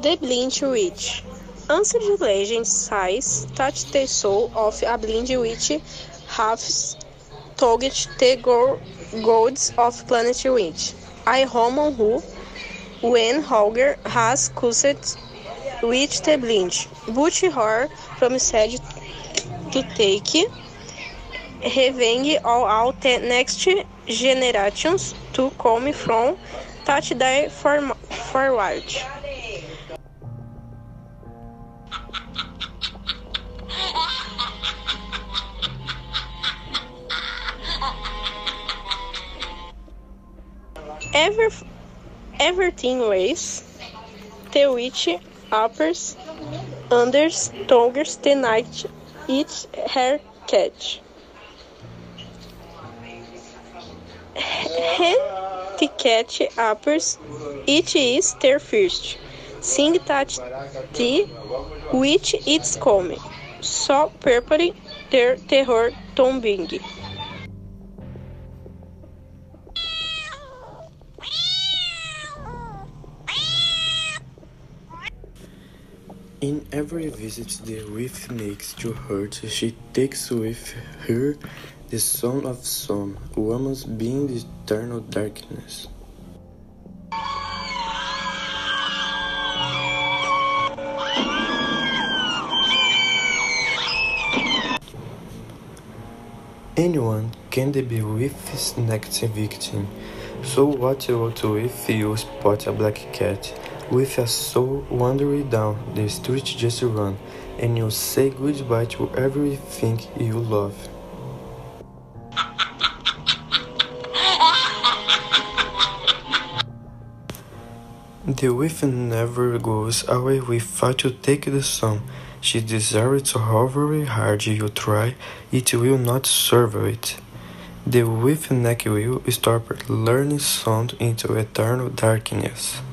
The Blind Witch. Ancient legend says that the soul of a blind witch has touched the gods of planet Witch, a Roman who, when Holger has cursed with the blind, but her promised to take revenge on all the next generations to come from that day forward. Everything waits. The witch appears under Togers the night eats her cat. When the cat appears, it is their first. Sing that the witch is coming, so preparing their terror tombing. In every visit the witch makes to her, she takes with her the Son of Sun, woman's being the eternal darkness. Anyone can be witch's next victim, so what if you spot a black cat with a soul wandering down the street, just run, and you say goodbye to everything you love. The witch never goes away without you take the sun. She desires to however hard you try, it will not serve it. The witch neck will stop learning sound into eternal darkness.